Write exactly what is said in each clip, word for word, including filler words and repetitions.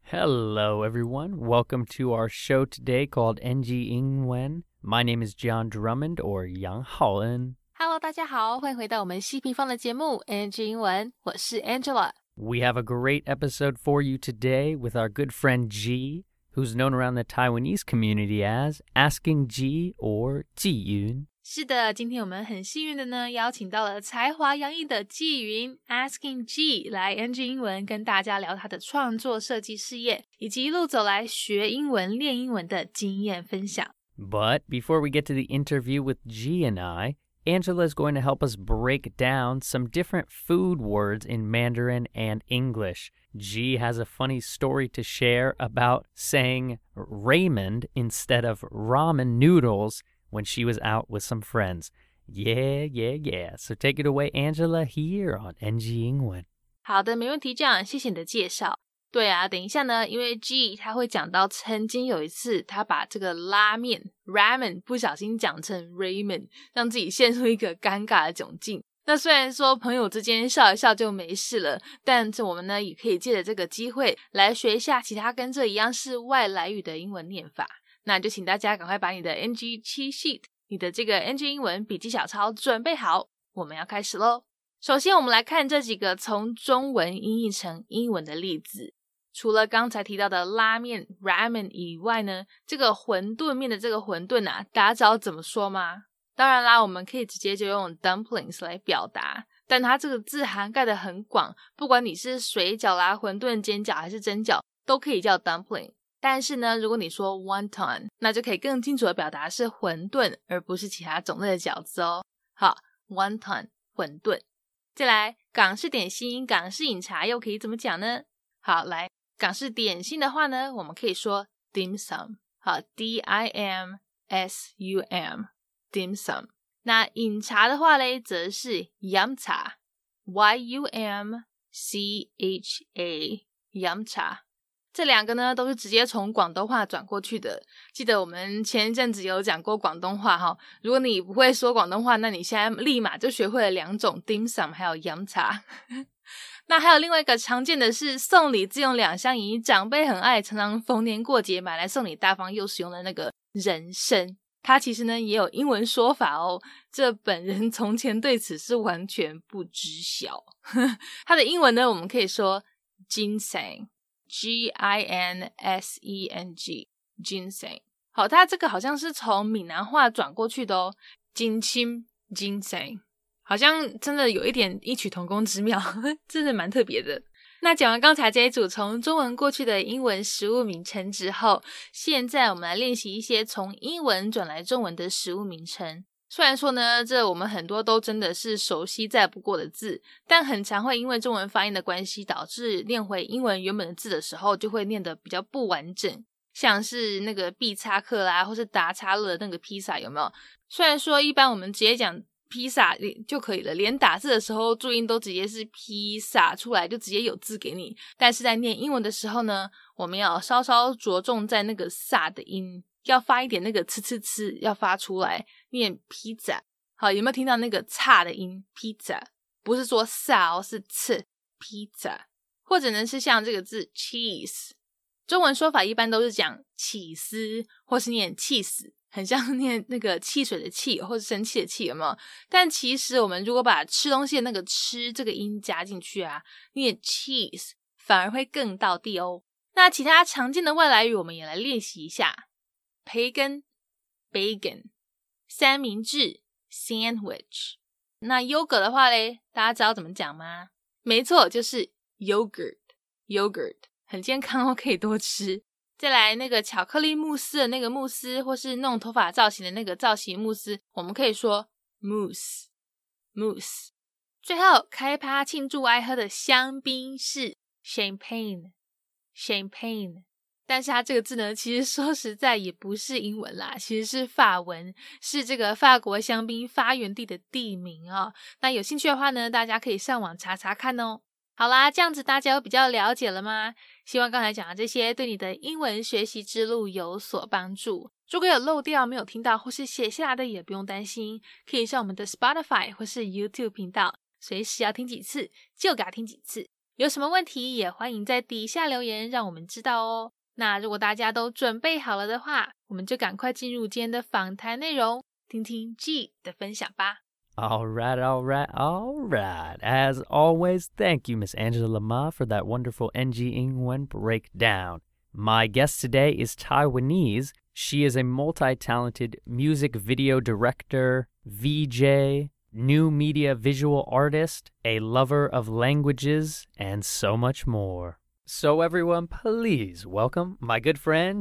Hello, everyone. Welcome to our show today called N G 英文. My name is John Drummond, or Yang Haoen. Hello， 大家好，欢迎回到我们西平方的节目 N G 英文，我是 Angela。We have a great episode for you today with our good friend G, who's known around the Taiwanese community as Asking G or 纪云。 是的，今天我们很幸运的呢，邀请到了才华洋溢的纪云 Asking G 来 N G 英文跟大家聊他的创作设计事业，以及一路走来学英文练英文的经验分享。 But before we get to the interview with G and I, Angela is going to help us break down some different food words in Mandarin and English. G has a funny story to share about saying Raymond instead of ramen noodles when she was out with some friends. Yeah, yeah, yeah. So take it away, Angela, here on N G 英文。 好的，没问题，这样谢谢你的介绍。对啊，等一下呢，因为 G 他会讲到曾经有一次他把这个拉面 ramen 不小心讲成 Raymond， 让自己陷入一个尴尬的窘境。那虽然说朋友之间笑一笑就没事了，但是我们呢也可以借着这个机会来学一下其他跟这一样是外来语的英文念法。那就请大家赶快把你的 N G cheat sheet 你的这个 N G 英文笔记小抄准备好，我们要开始咯。首先我们来看这几个从中文音译成英文的例子。除了刚才提到的拉面 ramen 以外呢，这个馄饨面的这个馄饨啊，大家知道怎么说吗？当然啦，我们可以直接就用 dumplings 来表达，但它这个字涵盖的很广，不管你是水饺啦、馄饨、煎饺还是蒸饺，都可以叫 dumpling。但是呢，如果你说 wonton， 那就可以更清楚的表达是馄饨，而不是其他种类的饺子哦。好 wonton 馄饨。再来，港式点心、港式饮茶又可以怎么讲呢？好，来港式点心的话呢，我们可以说 dim sum。好 D I M S U M dim sum。那饮茶的话嘞，则是 yum cha Y U M C H A yum cha。这两个呢都是直接从广东话转过去的。记得我们前一阵子有讲过广东话哈，如果你不会说广东话，那你现在立马就学会了两种 dim sum 还有 yum cha。那还有另外一个常见的是送礼自用两相宜，长辈很爱，常常逢年过节买来送礼，大方又实用的那个人参，它其实呢也有英文说法哦，这本人从前对此是完全不知晓。它的英文呢我们可以说 ginseng G I N S E N G ginseng。 好，它这个好像是从闽南话转过去的哦，金青 ginseng， 好像真的有一点异曲同工之妙，真的蛮特别的。那讲完刚才这一组从中文过去的英文食物名称之后，现在我们来练习一些从英文转来中文的食物名称。虽然说呢，这我们很多都真的是熟悉再不过的字，但很常会因为中文发音的关系，导致念回英文原本的字的时候，就会念得比较不完整。像是那个必叉克啦，或是达叉乐的那个披萨，有没有？虽然说一般我们直接讲披萨就可以了，连打字的时候注音都直接是披萨出来，就直接有字给你。但是在念英文的时候呢，我们要稍稍着重在那个萨的音，要发一点那个呲呲呲，要发出来念披萨。好，有没有听到那个叉的音？披萨不是说萨哦，是呲披萨。或者呢是像这个字 cheese， 中文说法一般都是讲起司，或是念气死，很像念那个汽水的气，或是生气的气，有没有？但其实我们如果把吃东西的那个吃这个音加进去啊，念 cheese 反而会更道地哦。那其他常见的外来语我们也来练习一下。培根 bacon， 三明治 sandwich。 那优格的话咧，大家知道怎么讲吗？没错，就是 yogurt yogurt， 很健康哦，可以多吃。再来那个巧克力慕斯的那个慕斯，或是弄头发造型的那个造型慕斯，我们可以说 mousse mousse。 最后开趴庆祝爱喝的香槟是 champagne champagne。但是它这个字呢，其实说实在也不是英文啦，其实是法文，是这个法国香槟发源地的地名哦。那有兴趣的话呢，大家可以上网查查看哦。好啦，这样子大家有比较了解了吗？希望刚才讲的这些对你的英文学习之路有所帮助。如果有漏掉没有听到或是写下来的，也不用担心，可以上我们的 Spotify 或是 YouTube 频道，随时要听几次就给它听几次。 有什么问题也欢迎在底下留言让我们知道哦。那如果大家都准备好了的话，我们就赶快进入今天的访谈内容，听听 G 的分享吧。 All right, all right, all right. As always, thank you, Miss Angela Ma, for that wonderful N G 英文 breakdown. My guest today is Taiwanese. She is a multi-talented music video director, V J, new media visual artist, a lover of languages, and so much more. So everyone, please welcome my good friend,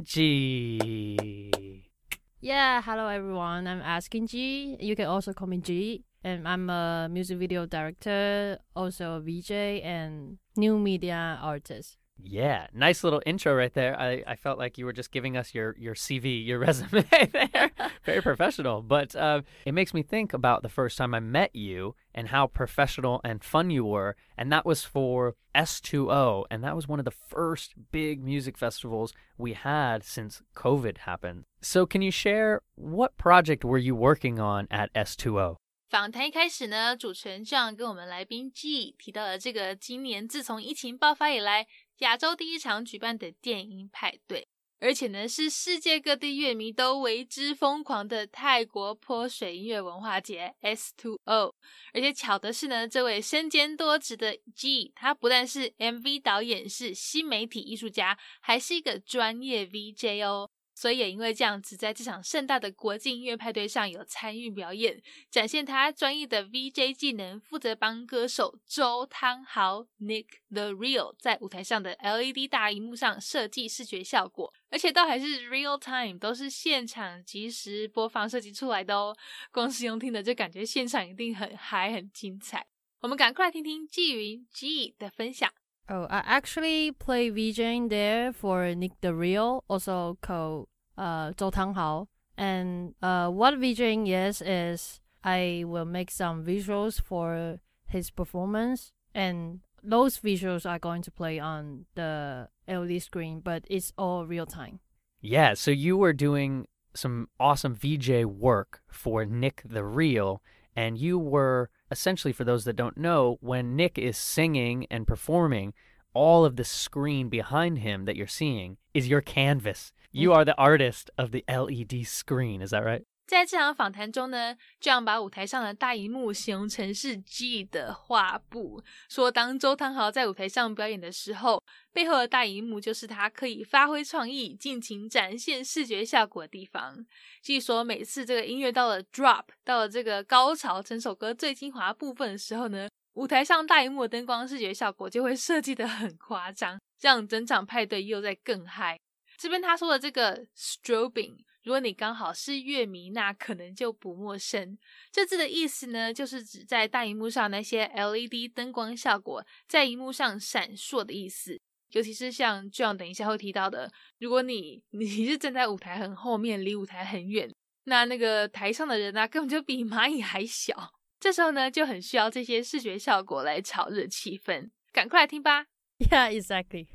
G. Yeah, hello everyone. I'm Asking G. You can also call me G. And I'm a music video director, also a V J, and new media artist. Yeah, nice little intro right there. I, I felt like you were just giving us your, your C V, your resume there. Very professional. But uh, it makes me think about the first time I met you and how professional and fun you were. And that was for S two O. And that was one of the first big music festivals we had since COVID happened. So can you share what project were you working on at S two O? 访谈一开始呢，主持人 John 跟我们来宾 G 提到了这个今年自从疫情爆发以来，亚洲第一场举办的电音派对，而且呢是世界各地乐迷都为之疯狂的泰国泼水音乐文化节 S two O。 而且巧的是呢，这位身兼多职的 G 他不但是 M V 导演，是新媒体艺术家，还是一个专业 V J 哦。所以也因为这样子，在这场盛大的国际音乐派对上有参与表演，展现他专业的 V J 技能，负责帮歌手周汤豪 Nick the Real 在舞台上的 L E D 大萤幕上设计视觉效果，而且都还是 real time， 都是现场即时播放设计出来的哦。光是用听的就感觉现场一定很嗨很精彩。我们赶快来听听纪云 G 的分享。 Oh, I actually play VJing there for Nick the Real, also called uh, Zhou Tanghao. And uh, what VJing is, is I will make some visuals for his performance. And those visuals are going to play on the L E D screen, but it's all real time. Yeah, so you were doing some awesome V J work for Nick the Real, and you were essentially, for those that don't know, when Nick is singing and performing, all of the screen behind him that you're seeing is your canvas. You are the artist of the L E D screen, is that right? 在这场访谈中呢，这样把舞台上的大萤幕形容成是 G 的画布，说当周汤豪在舞台上表演的时候，背后的大萤幕就是他可以发挥创意、尽情展现视觉效果的地方。G 说每次这个音乐到了 drop， 到了这个高潮，整首歌最精华部分的时候呢，舞台上大萤幕的灯光视觉效果就会设计得很夸张，让整场派对又在更嗨。这边他说的这个 strobing， 如果你刚好是乐迷，那可能就不陌生。这字的意思呢，就是指在大萤幕上那些 L E D 灯光效果在萤幕上闪烁的意思。尤其是像 John 等一下会提到的，如果你你是站在舞台很后面，离舞台很远，那那个台上的人啊，根本就比蚂蚁还小。这时候呢，就很需要这些视觉效果来炒热气氛。赶快来听吧。 Yeah, exactly.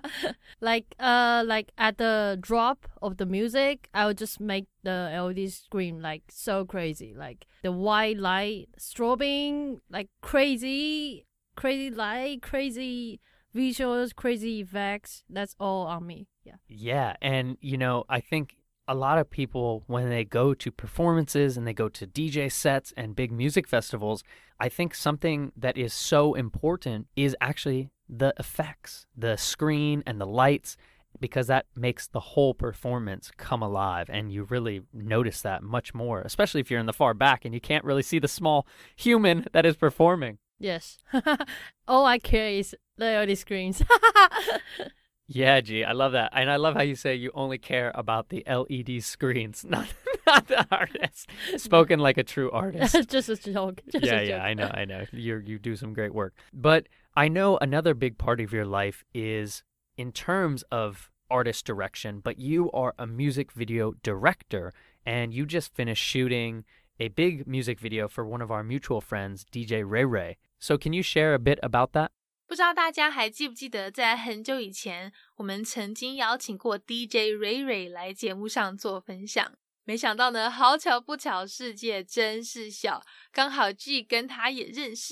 like uh like at the drop of the music, I would just make the L E D screen like so crazy. Like the white light strobing, like crazy, crazy light, crazy visuals, crazy effects. That's all on me. Yeah. Yeah, and you know, I think a lot of people, when they go to performances and they go to D J sets and big music festivals, I think something that is so important is actually the effects, the screen and the lights, because that makes the whole performance come alive, and you really notice that much more, especially if you're in the far back and you can't really see the small human that is performing. Yes. All I care is the L E D screens. Yeah, G, I love that. And I love how you say you only care about the L E D screens, not not the artist. Spoken like a true artist. Just a joke. Just yeah, a joke. yeah, I know, I know. You you do some great work. But I know another big part of your life is in terms of artist direction, but you are a music video director, and you just finished shooting a big music video for one of our mutual friends, D J Ray Ray. So can you share a bit about that? 不知道大家还记不记得，在很久以前，我们曾经邀请过 D J Ray Ray 来节目上做分享。没想到呢，好巧不巧，世界真是小，刚好 G 跟他也认识诶。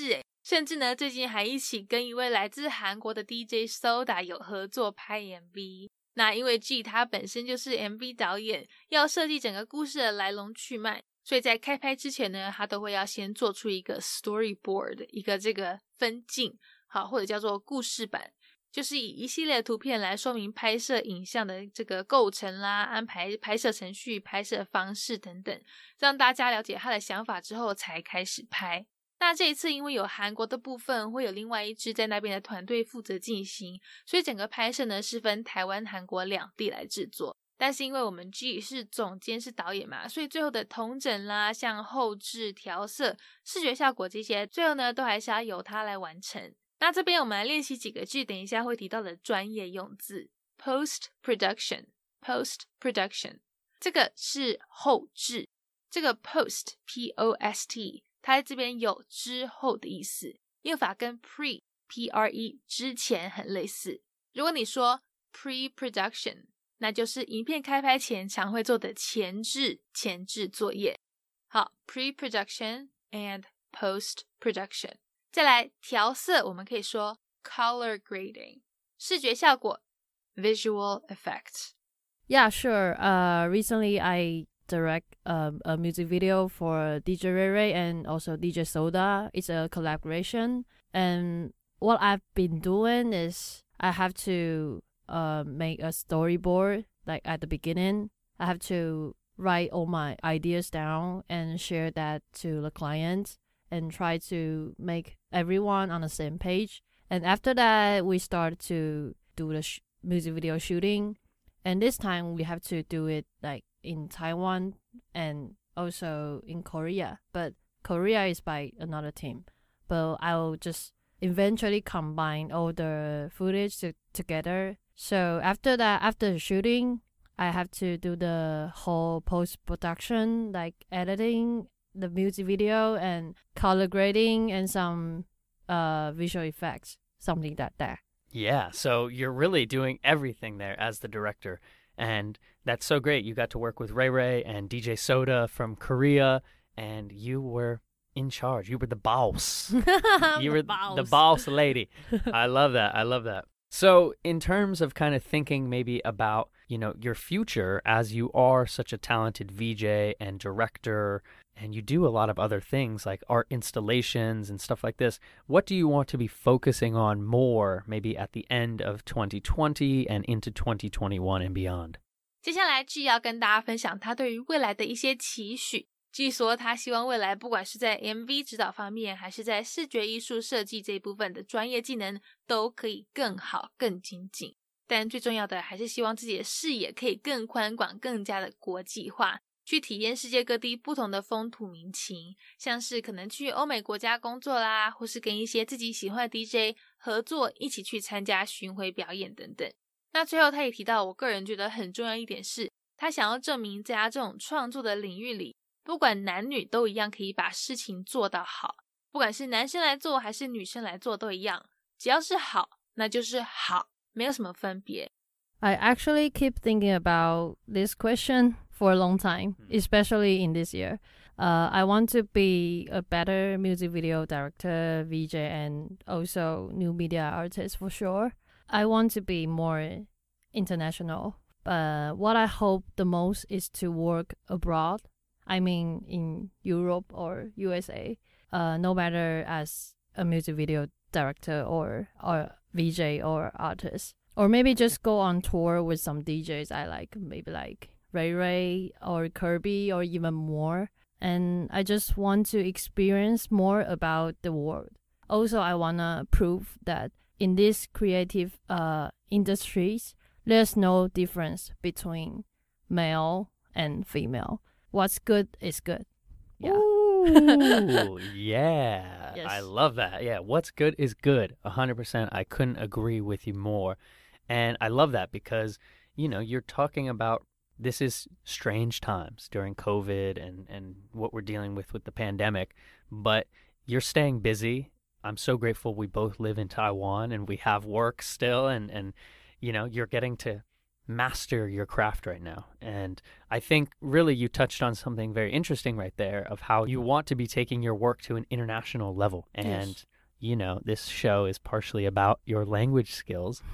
甚至呢最近还一起跟一位来自韩国的 D J Soda 有合作拍 M V。 那因为 G 他本身就是 M V 导演，要设计整个故事的来龙去脉，所以在开拍之前呢，他都会要先做出一个 storyboard， 一个这个分镜，好，或者叫做故事板，就是以一系列的图片来说明拍摄影像的这个构成啦，安排拍摄程序、拍摄方式等等，让大家了解他的想法之后才开始拍。那这一次因为有韩国的部分，会有另外一支在那边的团队负责进行，所以整个拍摄呢是分台湾、韩国两地来制作。但是因为我们 G 是总监是导演嘛，所以最后的统整啦，像后制、调色、视觉效果这些，最后呢都还是要由他来完成。那这边我们来练习几个 G 等一下会提到的专业用字。 Post production Post production 这个是后制，这个 post P O S T 它在这边有之后的意思，用法跟 pre P R E 之前很类似。如果你说 pre-production， 那就是影片开拍前常会做的前置前置作业。好， pre-production and post-production。 再来调色，我们可以说 color grading， 视觉效果 visual effects。 Yeah, sure. Uh, recently I direct um, a music video for D J Ray Ray and also D J Soda. It's a collaboration. And what I've been doing is I have to uh, make a storyboard like at the beginning. I have to write all my ideas down and share that to the client and try to make everyone on the same page. And after that, we start to do the sh- music video shooting. And this time we have to do it like in Taiwan and also in Korea. But Korea is by another team. But I'll just eventually combine all the footage to- together. So after that, after the shooting, I have to do the whole post-production, like editing the music video and color grading and some uh, visual effects, something like that. Yeah, so you're really doing everything there as the director. And that's so great. You got to work with Ray Ray and D J Soda from Korea, and you were in charge. You were the boss. You were the boss. the boss lady. I love that. I love that. So in terms of kind of thinking maybe about, you know, your future, as you are such a talented V J and director, and you do a lot of other things like art installations and stuff like this, what do you want to be focusing on more maybe at the end of twenty twenty and into twenty twenty-one and beyond? 接下来 G 要跟大家分享他对于未来的一些期许。G 说他希望未来不管是在 M V 指导方面，还是在视觉艺术设计这一部分的专业技能都可以更好更精进，但最重要的还是希望自己的视野可以更宽广，更加的国际化，去体验世界各地不同的风土民情，像是可能去欧美国家工作啦，或是跟一些自己喜欢的 D J 合作，一起去参加巡回表演等等。那最后他也提到，我个人觉得很重要一点是，他想要证明在他这种创作的领域里，不管男女都一样可以把事情做到好，不管是男生来做还是女生来做都一样，只要是好那就是好，没有什么分别。 I actually keep thinking about this question for a long time, especially in this year. Uh, I want to be a better music video director, V J, and also new media artist for sure. I want to be more international. But what I hope the most is to work abroad. I mean, in Europe or U S A, uh, no matter as a music video director or, or V J or artist. Or maybe just go on tour with some D Js I like, maybe like Ray Ray or Kirby or even more. And I just want to experience more about the world. Also, I want to prove that in these creative uh, industries, there's no difference between male and female. What's good is good. Yeah. Ooh, yeah. Yes. I love that. Yeah, what's good is good. one hundred percent. I couldn't agree with you more. And I love that because, you know, you're talking about this is strange times during COVID and, and what we're dealing with with the pandemic, but you're staying busy. I'm so grateful we both live in Taiwan and we have work still, and, and you know, you're getting to master your craft right now. And I think really you touched on something very interesting right there of how you want to be taking your work to an international level. And Yes. you know, this show is partially about your language skills.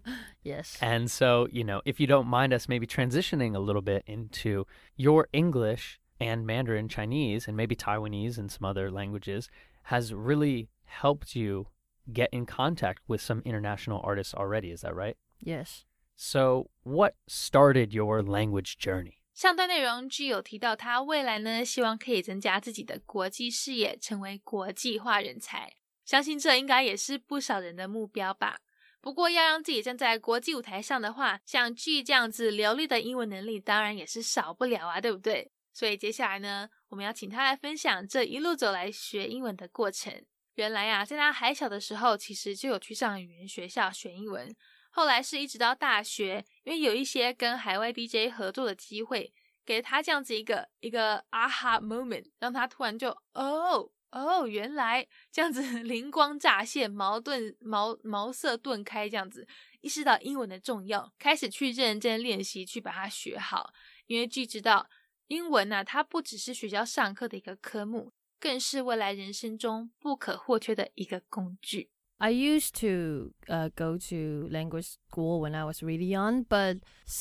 Yes. And so, you know, if you don't mind us maybe transitioning a little bit into your English and Mandarin Chinese and maybe Taiwanese and some other languages has really helped you get in contact with some international artists already. Is that right? Yes. So what started your language journey? 上段内容 G 有提到他未来呢希望可以增加自己的国际视野，成为国际化人才，相信这应该也是不少人的目标吧。不过要让自己站在国际舞台上的话，像 G 这样子流利的英文能力当然也是少不了啊，对不对？所以接下来呢，我们要请他来分享这一路走来学英文的过程。原来啊，在他还小的时候其实就有去上语言学校学英文，后来是一直到大学，因为有一些跟海外 D J 合作的机会，给他这样子一个一个 aha moment， 让他突然就哦哦，原来这样子灵光乍现，矛盾茅茅塞顿开，这样子意识到英文的重要，开始去认真练习，去把它学好。因为 G 知道英文啊，它不只是学校上课的一个科目，更是未来人生中不可或缺的一个工具。 I used to uh, go to language school when I was really young, but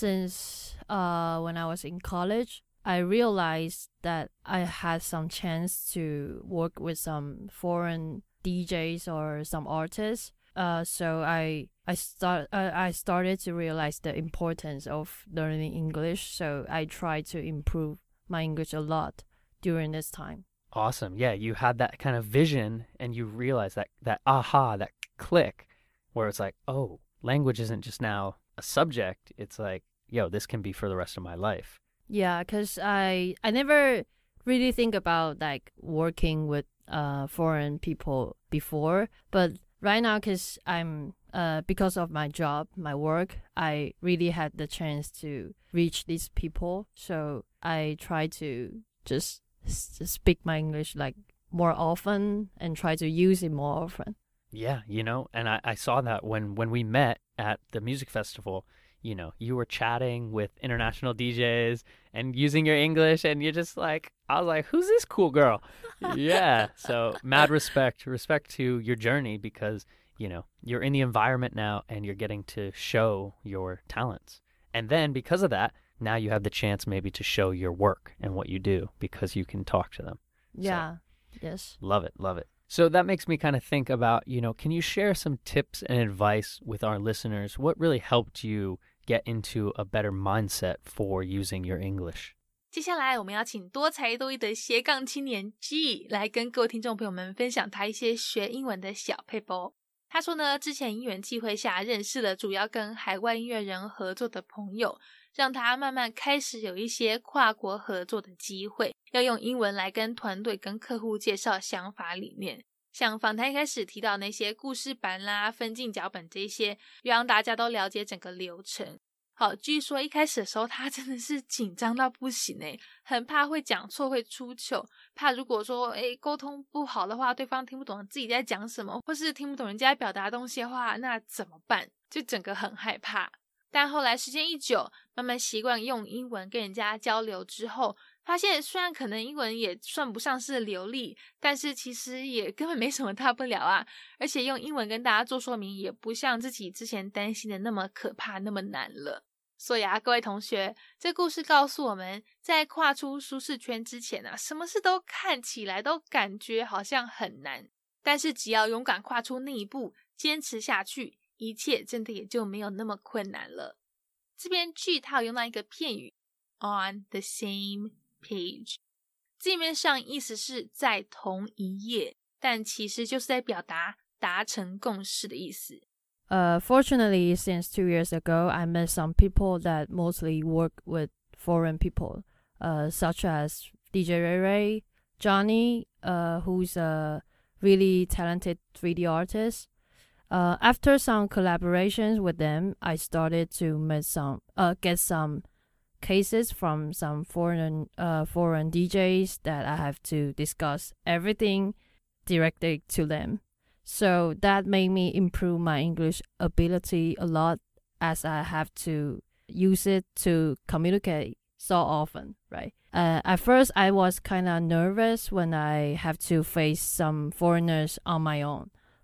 since uh, when I was in college, I realized that I had some chance to work with some foreign D Js or some artists. Uh, so I I start uh, I started to realize the importance of learning English. So I tried to improve my English a lot during this time. Awesome. Yeah, you had that kind of vision and you realized that, that aha, that click where it's like, oh, language isn't just now a subject. It's like, yo, this can be for the rest of my life. Yeah, because I, I never really think about like working with uh, foreign people before. But right now, because I'm uh, because of my job, my work, I really had the chance to reach these people. So I try to just speak my English like more often and try to use it more often. Yeah, you know, and I, I saw that when, when we met at the music festival, you know, you were chatting with international D Js and using your English and you're just like, I was like, who's this cool girl? Yeah, so mad respect, respect to your journey because, you know, you're in the environment now and you're getting to show your talents. And then because of that, now you have the chance maybe to show your work and what you do because you can talk to them. Yeah. So, yes. Love it. Love it. So that makes me kind of think about, you know, can you share some tips and advice with our listeners? What really helped you get into a better mindset for using your English? 接下来我们要请多才多艺的斜杠青年 G 来跟各位听众朋友们分享他一些学英文的小撇步。他说呢，之前因缘际会下认识了主要跟海外音乐人合作的朋友，让他慢慢开始有一些跨国合作的机会，要用英文来跟团队跟客户介绍想法理念。像访谈一开始提到那些故事板啦、分镜脚本这些，让大家都了解整个流程。好，据说一开始的时候他真的是紧张到不行诶，很怕会讲错会出糗，怕如果说诶沟通不好的话，对方听不懂自己在讲什么，或是听不懂人家表达的东西的话，那怎么办？就整个很害怕。但后来时间一久，慢慢习惯用英文跟人家交流之后，发现虽然可能英文也算不上是流利，但是其实也根本没什么大不了啊，而且用英文跟大家做说明也不像自己之前担心的那么可怕那么难了。所以啊，各位同学，这故事告诉我们，在跨出舒适圈之前啊，什么事都看起来都感觉好像很难，但是只要勇敢跨出那一步，坚持下去，一切真的也就没有那么困难了。这边 G 它有用到一个片语 on the same page， 字面上意思是在同一页，但其实就是在表达达成共识的意思。 Uh, fortunately, since two years ago, I met some people that mostly work with foreign people, uh, such as D J Ray Ray, Johnny, uh, who's a really talented three D artist. Uh, after some collaborations with them, I started to meet some, uh, get some cases from some foreign, uh, foreign D Js that I have to discuss everything directly to them. So that made me improve my English ability a lot as I have to use it to communicate so often, right? Uh, at first, I was kind of nervous when I have to face some foreigners on my own.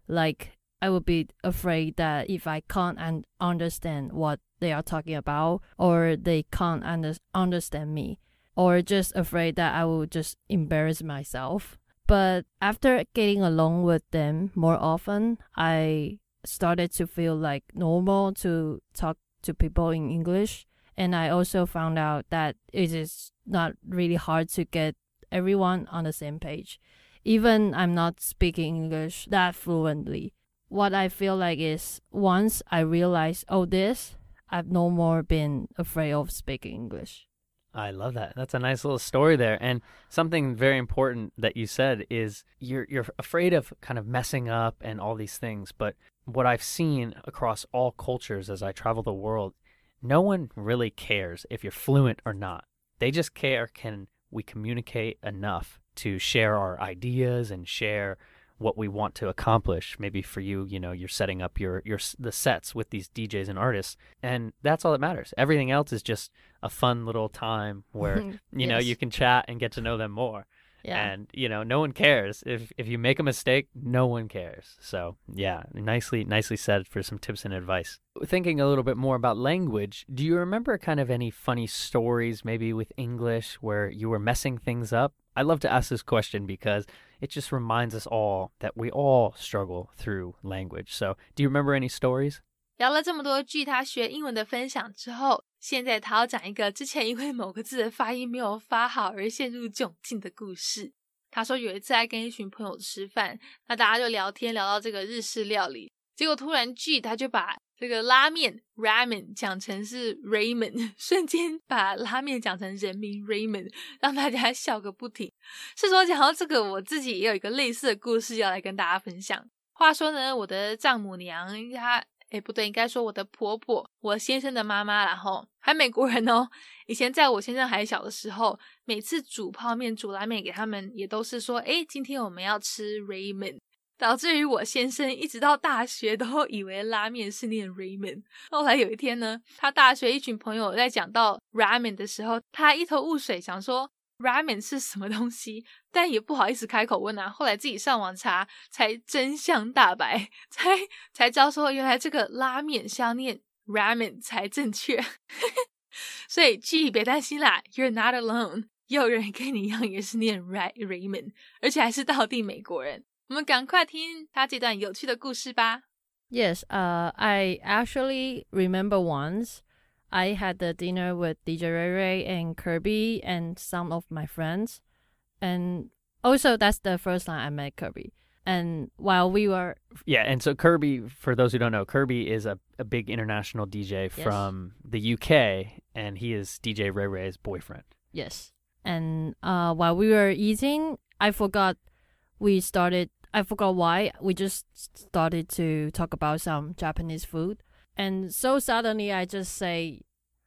Like I would be afraid that if I can't un- understand what they are talking about, or they can't under- understand me, or just afraid that I will just embarrass myself. But after getting along with them more often, I started to feel like normal to talk to people in English. And I also found out that it is not really hard to get everyone on the same page. Even I'm not speaking English that fluently. What I feel like is once I realize, oh, this, I've no more been afraid of speaking English. I love that. That's a nice little story there. And something very important that you said is you're you're afraid of kind of messing up and all these things. But what I've seen across all cultures as I travel the world, no one really cares if you're fluent or not. They just care, can we communicate enough to share our ideas and share what we want to accomplish. Maybe for you, you know, you're setting up your your the sets with these D Js and artists, and that's all that matters. Everything else is just a fun little time where you yes. know you can chat and get to know them more. Yeah. And you know, no one cares if if you make a mistake. No one cares. So yeah, nicely nicely said for some tips and advice. Thinking a little bit more about language, do you remember kind of any funny stories maybe with English where you were messing things up? I love to ask this question because it just reminds us all that we all struggle through language. So do you remember any stories? 聊了这么多句他学英文的分享之后，现在他要讲一个之前因为某个字的发音没有发好而陷入窘境的故事。他说有一次在跟一群朋友吃饭，那大家就聊天聊到这个日式料理，结果突然 G 他就把这个拉面 ramen 讲成是 ramen， 瞬间把拉面讲成人名 ramen， 让大家笑个不停。是说讲到这个，我自己也有一个类似的故事要来跟大家分享。话说呢，我的丈母娘她诶不对，应该说我的婆婆，我先生的妈妈啦齁，还美国人哦。以前在我先生还小的时候，每次煮泡面煮拉面给他们也都是说，诶今天我们要吃 ramen， 导致于我先生一直到大学都以为拉面是念 ramen。 后来有一天呢，他大学一群朋友在讲到 ramen 的时候，他一头雾水，想说ramen 是什么东西，但也不好意思开口问啊。后来自己上网查，才真相大白，才才知道说原来这个拉面是要念 ramen 才正确。所以 G 别担心啦 ，You're not alone， 也有人跟你一样也是念 ramen， 而且还是道地美国人。我们赶快听他这段有趣的故事吧。 Yes, uh, I actually remember once I had the dinner with D J Ray Ray and Kirby and some of my friends. And also that's the first time I met Kirby. And while we were... Yeah, and so Kirby, for those who don't know, Kirby is a, a big international D J yes. from the U K, and he is D J Ray Ray's boyfriend. Yes. And uh, while we were eating, I forgot we started... I forgot why. We just started to talk about some Japanese food. And so suddenly I just say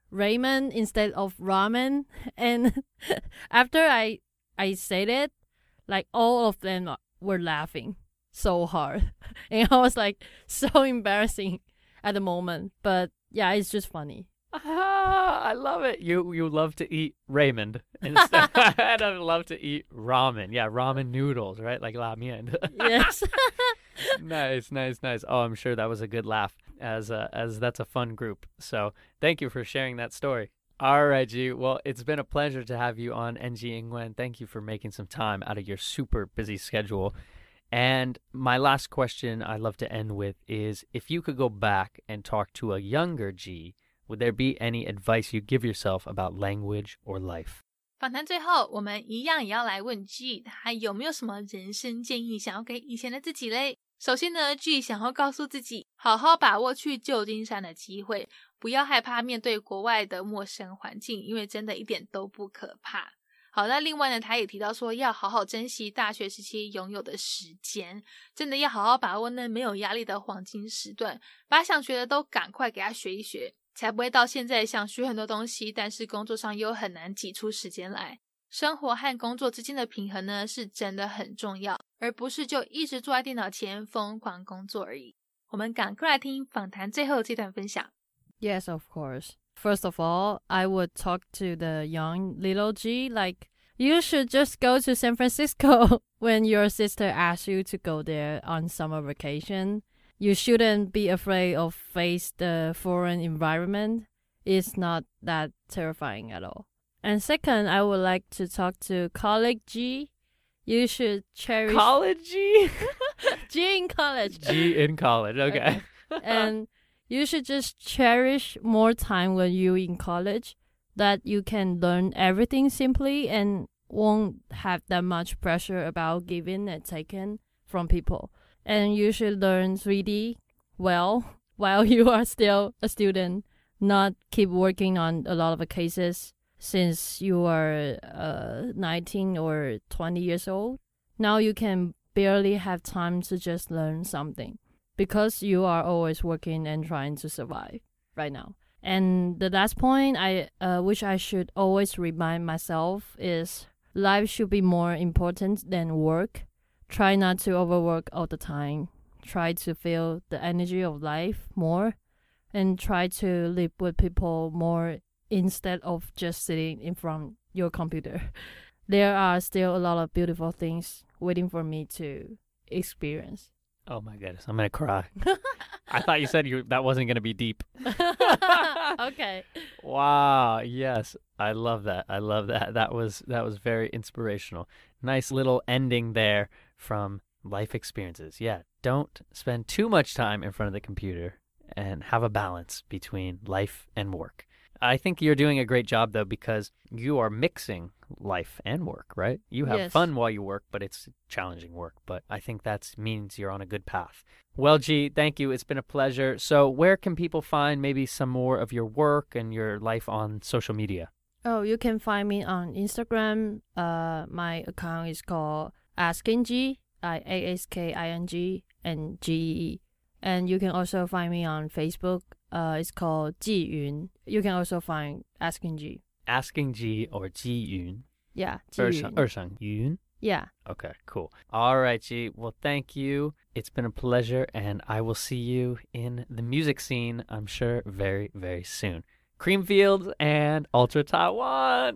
ramen instead of ramen. And after I I said it, like all of them were laughing so hard. And I was like so embarrassing at the moment. But yeah, it's just funny. Ah, I love it. You you love to eat Raymond instead. I love to eat ramen. Yeah, ramen noodles, right? Like la mian. Yes. Nice, nice, nice. Oh, I'm sure that was a good laugh, as uh, as that's a fun group. So thank you for sharing that story. All right, G. Well, it's been a pleasure to have you on N G Ingwen. Thank you for making some time out of your super busy schedule. And my last question I love to end with is, if you could go back and talk to a younger G, would there be any advice you give yourself about language or life? 访谈最后，我们一样也要来问 G， 他有没有什么人生建议想要给以前的自己嘞？首先呢 G 想要告诉自己，好好把握去旧金山的机会，不要害怕面对国外的陌生环境，因为真的一点都不可怕。好，那另外呢，他也提到说要好好珍惜大学时期拥有的时间，真的要好好把握那没有压力的黄金时段，把想学的都赶快给他学一学，才不会到现在想学很多东西，但是工作上又很难挤出时间来。生活和工作之间的平衡呢，是真的很重要，而不是就一直坐在电脑前疯狂工作而已。我们赶快来听访谈最后这段分享。 Yes, of course. First of all, I would talk to the young little G, like You should just go to San Francisco when your sister asks you to go there on summer vacation. You shouldn't be afraid of face the foreign environment. It's not that terrifying at all. And second, I would like to talk to colleague G. You should cherish College G? G in college. G in college, okay. Okay. And you should just cherish more time when you're in college, that you can learn everything simply and won't have that much pressure about giving and taking from people. And you should learn three D well while you are still a student, not keep working on a lot of cases since you are uh, nineteen or twenty years old. Now you can barely have time to just learn something because you are always working and trying to survive right now. And the last point I uh, which I should always remind myself is life should be more important than work. Try not to overwork all the time. Try to feel the energy of life more and try to live with people more instead of just sitting in front your computer. There are still a lot of beautiful things waiting for me to experience. Oh my goodness, I'm gonna cry. I thought you said you that wasn't gonna be deep. Okay. Wow, yes. I love that. I love that. That was that was very inspirational. Nice little ending there from life experiences. Yeah, don't spend too much time in front of the computer and have a balance between life and work. I think you're doing a great job, though, because you are mixing life and work, right? You have Yes. fun while you work, but it's challenging work. But I think that means you're on a good path. Well, G, thank you. It's been a pleasure. So where can people find maybe some more of your work and your life on social media? Oh, you can find me on Instagram. Uh, my account is called AskingG, I A S K I N G and G E E. And you can also find me on Facebook. Uh, it's called Ji Yun. You can also find Asking G. Asking G or Ji Yun? Yeah, Ji Ershang Yun. Ershang Yun? Yeah. Okay, cool. All right, G. Well, thank you. It's been a pleasure, and I will see you in the music scene, I'm sure, very, very soon. Creamfields and Ultra Taiwan.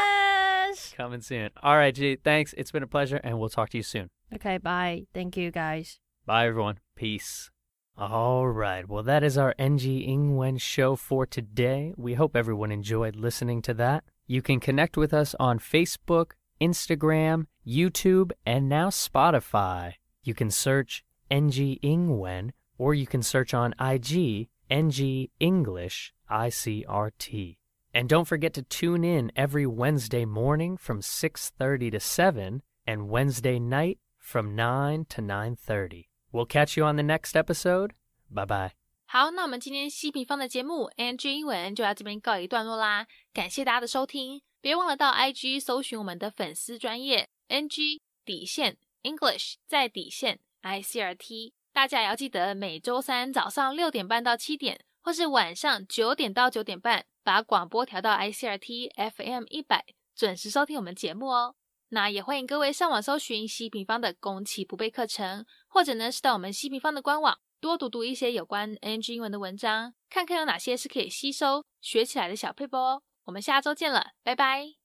Yes. Coming soon. All right, G. Thanks. It's been a pleasure, and we'll talk to you soon. Okay, bye. Thank you, guys. Bye, everyone. Peace. All right. Well, that is our N G Ingwen show for today. We hope everyone enjoyed listening to that. You can connect with us on Facebook, Instagram, YouTube, and now Spotify. You can search N G Ingwen, or you can search on I G, N G English I C R T. And don't forget to tune in every Wednesday morning from six thirty to seven and Wednesday night from nine to nine thirty. We'll catch you on the next episode. Bye bye. 好，那我们今天西平方的节目 N G 英文就到这边告一段落啦，感谢大家的收听，别忘了到 I G 搜寻我们的粉丝专页 N G 底线 English 在底线 I C R T， 大家也要记得每周三早上六点半到七点，或是晚上九点到九点半，把广播调到 I C R T F M 一百，准时收听我们节目哦。那也欢迎各位上网搜寻西平方的攻其不备课程，或者呢是到我们西平方的官网多读读一些有关 N G 英文的文章，看看有哪些是可以吸收学起来的小撇步哦。我们下周见了，拜拜。